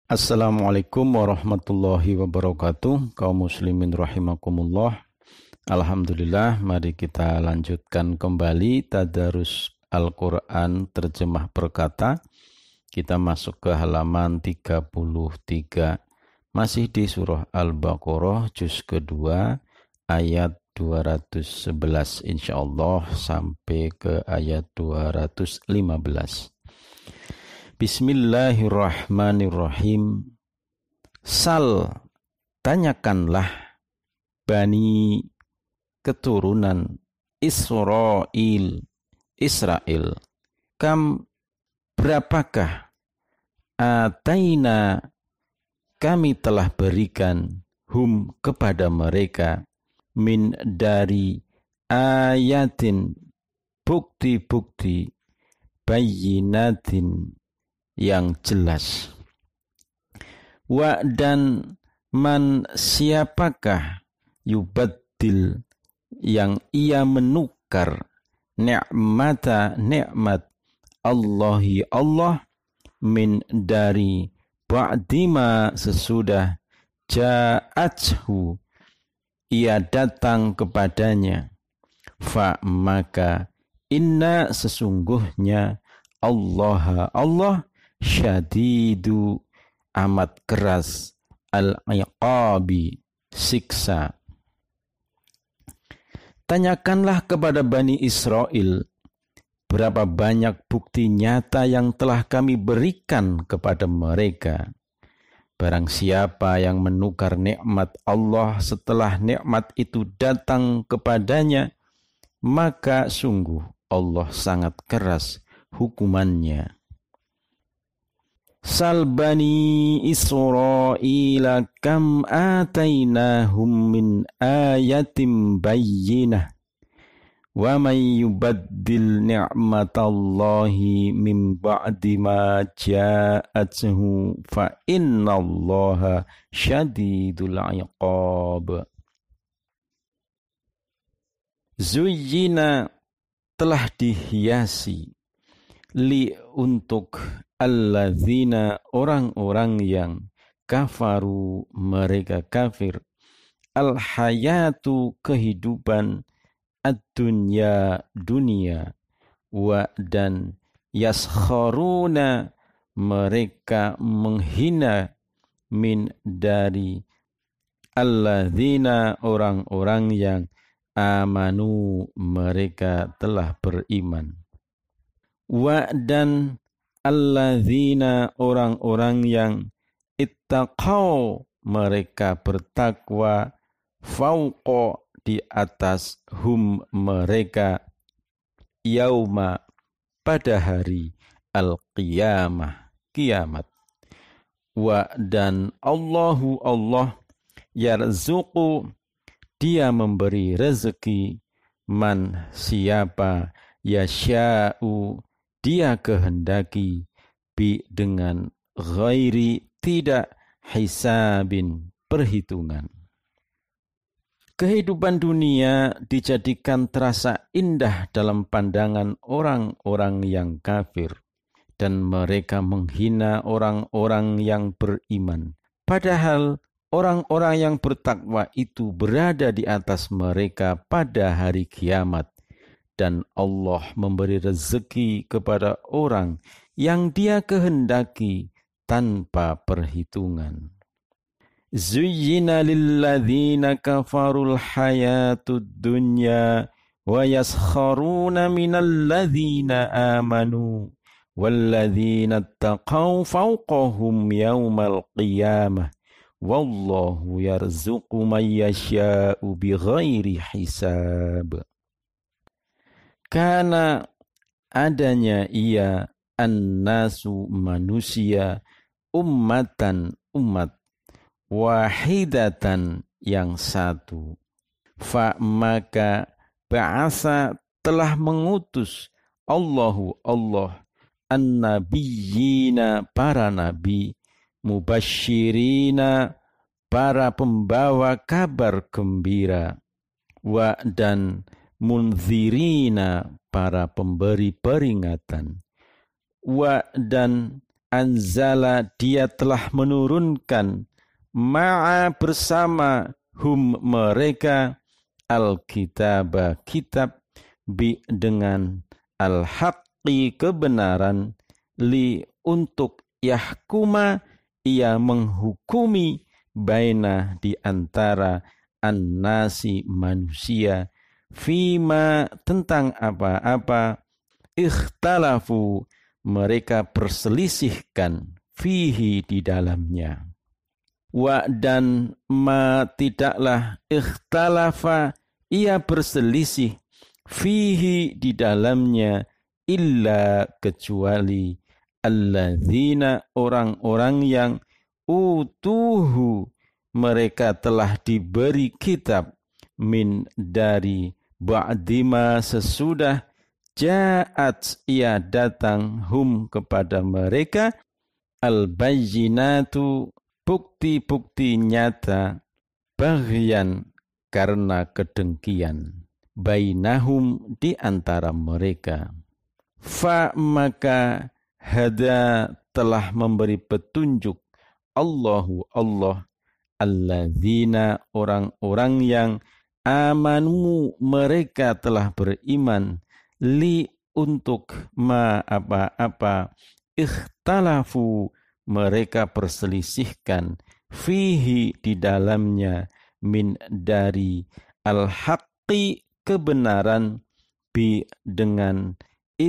Assalamualaikum warahmatullahi wabarakatuh. Kaum muslimin rahimakumullah. Alhamdulillah, mari kita lanjutkan kembali tadarus Al-Quran terjemah perkata. Kita masuk ke halaman 33. Masih di surah Al-Baqarah juz kedua ayat 211 insyaallah sampai ke ayat 215. Bismillahirrahmanirrahim. Sal, tanyakanlah Bani keturunan Israel, kam berapakah ataina kami telah berikan hum kepada mereka min dari ayatin bukti-bukti bayyinatin yang jelas. Wa dan man siapakah yubaddil yang ia menukar nikmat Allahi Allah min dari ba'dima sesudah ja'athu ia datang kepadanya, fa maka inna sesungguhnya Allah syadidu amat keras al-iqabi siksa. Tanyakanlah kepada Bani Israel berapa banyak bukti nyata yang telah kami berikan kepada mereka. Barang siapa yang menukar nikmat Allah setelah nikmat itu datang kepadanya, maka sungguh Allah sangat keras hukumannya. Sal Bani Israila kam atainahum min ayatin bayyinah wa may yubaddil ni'matallahi min ba'di ma ja'athu fa innallaha syadidul iqab. Zuyyina telah dihiasi li untuk alladzina orang-orang yang kafaru mereka kafir al-hayatu kehidupan ad-dunya dunia wa dan yaskharuna mereka menghina min dari alladzina orang-orang yang amanu mereka telah beriman. Wa dan alladzina orang-orang yang ittaqau mereka bertakwa fauqa di atas hum mereka yauma pada hari al-qiyamah kiamat. Wa dan Allahu Allah yarzuqu dia memberi rezeki man siapa yasya'u dia kehendaki bi dengan ghairi tidak hisabin perhitungan. Kehidupan dunia dijadikan terasa indah dalam pandangan orang-orang yang kafir dan mereka menghina orang-orang yang beriman. Padahal orang-orang yang bertakwa itu berada di atas mereka pada hari kiamat. Dan Allah memberi rezeki kepada orang yang Dia kehendaki tanpa perhitungan. Zuyyina lilladzina kafarul hayatud dunya wa yaskharuna minal ladzina amanu walladzina taqaw fawqahum yawmal qiyamah wallahu yarzuqu man yasha'u bighairi hisab. Karena adanya ia an-nasu manusia ummatan umat wahidatan yang satu. Fa maka ba'asa telah mengutus Allahu Allah an-nabiyyina para nabi mubasyirina para pembawa kabar gembira wa dan munzirina para pemberi peringatan wa dan anzala dia telah menurunkan ma'a bersama hum mereka al-kitaba kitab bi dengan al-haqqi kebenaran li untuk yahkuma ia menghukumi baina di antara an-nasi manusia fima tentang apa-apa ikhtalafu mereka perselisihkan fihi di dalamnya. Wa dan ma tidaklah ikhtalafa ia berselisih fihi di dalamnya illa kecuali alladzina orang-orang yang utuhu mereka telah diberi kitab min dari ba'dima sesudah ja'at ia datang hum kepada mereka al-bayyinatu bukti-bukti nyata baghyan karena kedengkian bainahum di antara mereka. Fa maka hada telah memberi petunjuk Allahu Allah alladzina orang-orang yang amanu mereka telah beriman li untuk ma apa-apa ikhtalafu mereka perselisihkan fihi di dalamnya min dari al-haqqi kebenaran bi dengan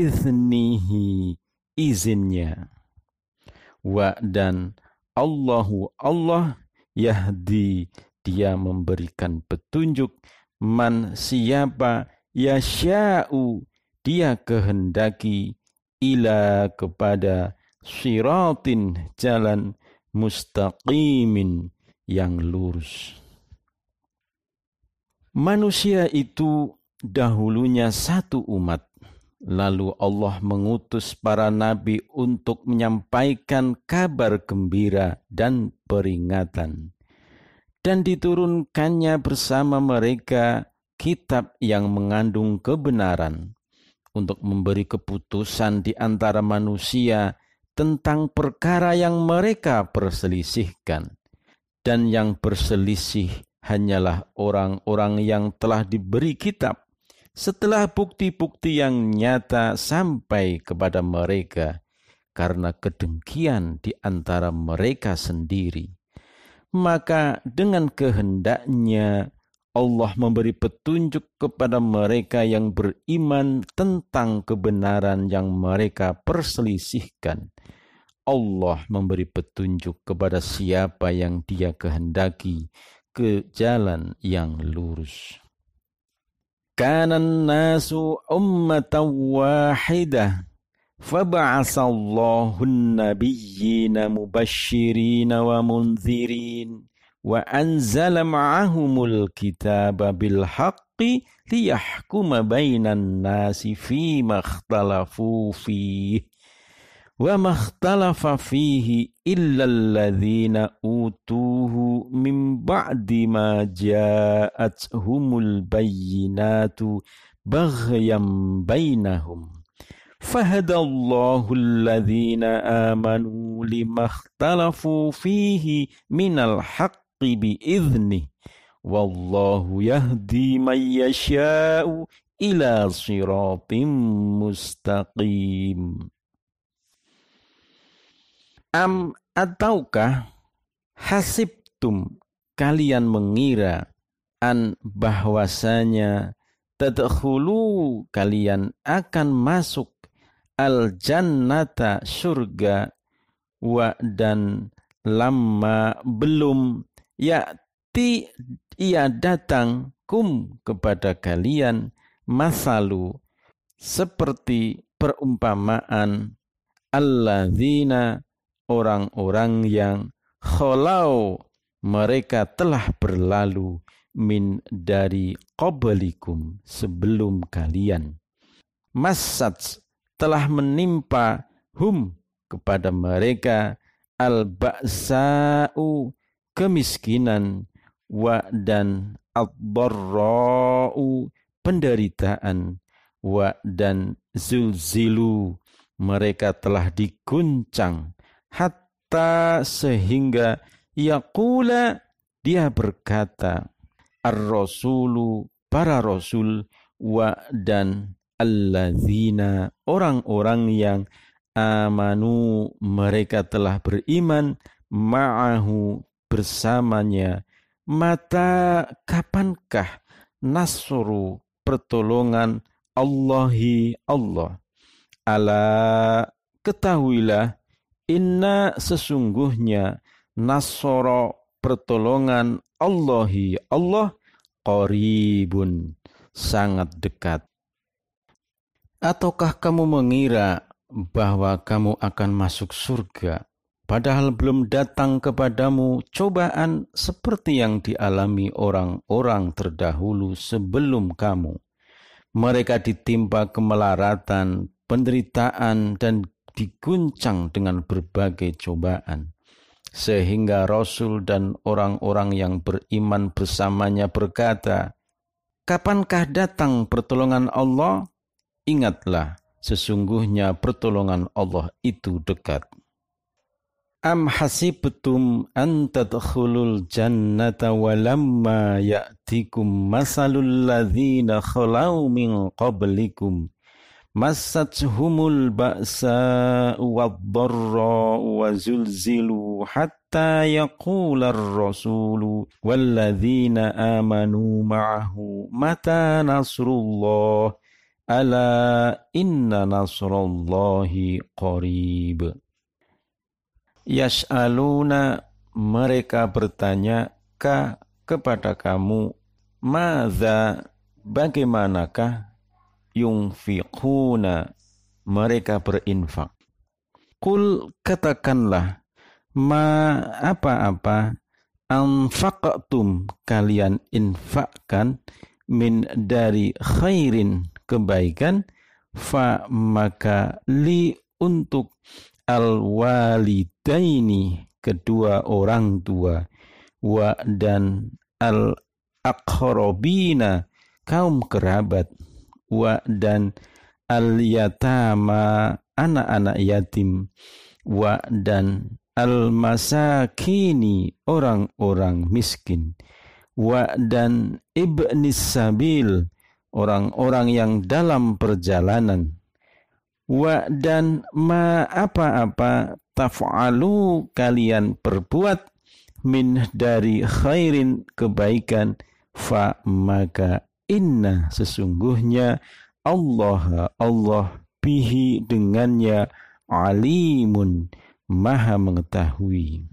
iznihi izinnya wa dan Allahu Allah yahdi dia memberikan petunjuk man siapa yasya'u dia kehendaki ila kepada siratin jalan mustaqimin yang lurus. Manusia itu dahulunya satu umat. Lalu Allah mengutus para nabi untuk menyampaikan kabar gembira dan peringatan. Dan diturunkannya bersama mereka kitab yang mengandung kebenaran untuk memberi keputusan di antara manusia tentang perkara yang mereka perselisihkan. Dan yang berselisih hanyalah orang-orang yang telah diberi kitab setelah bukti-bukti yang nyata sampai kepada mereka karena kedengkian di antara mereka sendiri. Maka dengan kehendaknya Allah memberi petunjuk kepada mereka yang beriman tentang kebenaran yang mereka perselisihkan. Allah memberi petunjuk kepada siapa yang Dia kehendaki ke jalan yang lurus. Kanan nasu ummatan wahidah faba'asallahu an-nabiyyina mubashshirina wa munzirin wa anzala ma'ahumul kitaba bil haqqi liyahkuma bainan nasi fima ikhtalafu fihi wa makhtalafa fihi illa alladhina utuhu min ba'di ma ja'athumul bayyinatu baghyan bainahum fahadallahu alladhina amanu limakhtalafu fihi minal haqqi bi'idhnih wallahu yahdi man yasha'u ila siratim mustaqim. Am ataukah hasibtum kalian mengira an bahwasanya tadkhulu kalian akan masuk al jannata surga wa dan lamma belum ya'ti ia datang kum kepada kalian masalu seperti perumpamaan alladzina orang-orang yang kholau mereka telah berlalu min dari qablikum sebelum kalian. Massat telah menimpa hum kepada mereka al-ba'sa'u kemiskinan wa dan ad-dharra'u penderitaan wa dan zulzilu mereka telah diguncang hatta sehingga yaqula dia berkata ar-rasulu para rasul wa dan alladzina orang-orang yang amanu mereka telah beriman ma'ahu bersamanya mata kapankah nasru pertolongan Allahi Allah ala ketahuilah inna sesungguhnya nasoro pertolongan Allahi Allah qaribun sangat dekat. Ataukah kamu mengira bahwa kamu akan masuk surga padahal belum datang kepadamu cobaan seperti yang dialami orang-orang terdahulu sebelum kamu. Mereka ditimpa kemelaratan, penderitaan, dan diguncang dengan berbagai cobaan. Sehingga Rasul dan orang-orang yang beriman bersamanya berkata, kapankah datang pertolongan Allah? Ingatlah, sesungguhnya pertolongan Allah itu dekat. Am hasibtum an tadkhulul jannata walamma ya'tikum masalul ladzina khalau min qablikum massathumul ba'sa wad-dharra wa zulzilu hatta yaqular rasulu walladzina amanu ma'ahu mata nasrullah ala inna nasrallahi qarib. Yas'aluna mereka bertanya kepada kamu madza bagaimanakah yunfiquna mereka berinfak. Qul katakanlah ma apa-apa anfaqtum kalian infakkan min dari khairin kebaikan fa maka li untuk al-walidaini kedua orang tua wa dan al-aqrabina kaum kerabat wa dan al-yatama anak-anak yatim wa dan al-masakini orang-orang miskin wa dan ibnis sabil orang-orang yang dalam perjalanan wa dan ma apa-apa taf'alu kalian perbuat min dari khairin kebaikan fa maka inna sesungguhnya Allah bihi dengannya alimun maha mengetahui.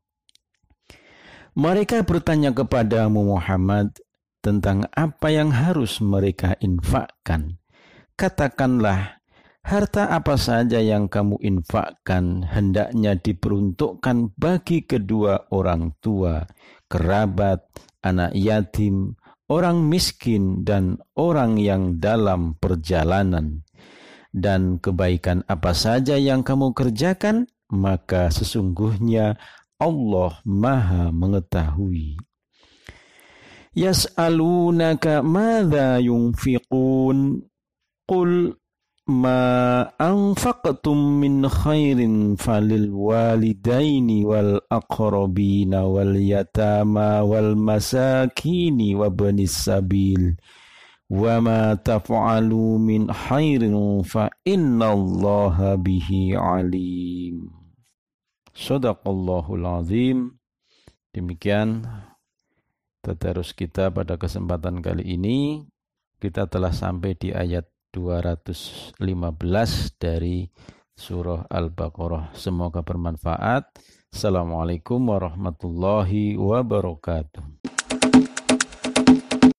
Mereka bertanya kepadamu Muhammad tentang apa yang harus mereka infakkan. Katakanlah, harta apa saja yang kamu infakkan hendaknya diperuntukkan bagi kedua orang tua, kerabat, anak yatim, orang miskin, dan orang yang dalam perjalanan. Dan kebaikan apa saja yang kamu kerjakan, maka sesungguhnya Allah maha mengetahui. Yas'alunaka madza yunfiqun qul ma anfaqtum min khairin falil walidaini wal aqrabina wal yatama wal masakini wa banis sabil wa ma taf'alu min khairin fa innallaha bihi alim. Shadaqallahul azim. Demikian tadarus kita pada kesempatan kali ini. Kita telah sampai di ayat 215 dari surah Al-Baqarah. Semoga bermanfaat. Assalamualaikum warahmatullahi wabarakatuh.